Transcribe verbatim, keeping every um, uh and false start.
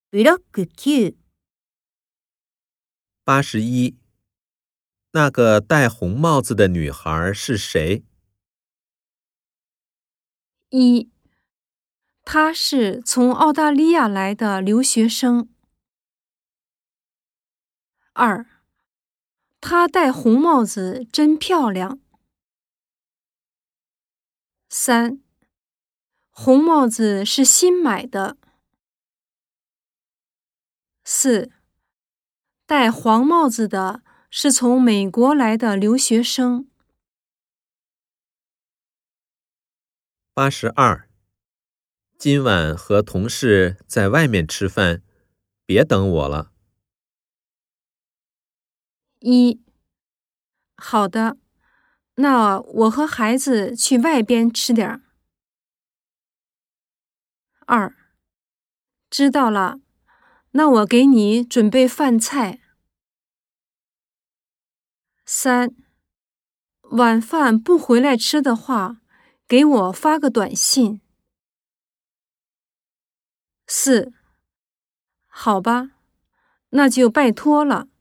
ブロックきゅう。 八十一，那个戴红帽子的女孩是谁？ 一，她是从澳大利亚来的留学生。二，她戴红帽子真漂亮。三，红帽子是新买的。四，戴黄帽子的是从美国来的留学生。 八十二，今晚和同事在外面吃饭，别等我了。 一，好的，那我和孩子去外边吃点儿。二，知道了，那我给你准备饭菜。三，晚饭不回来吃的话，给我发个短信。四，好吧，那就拜托了。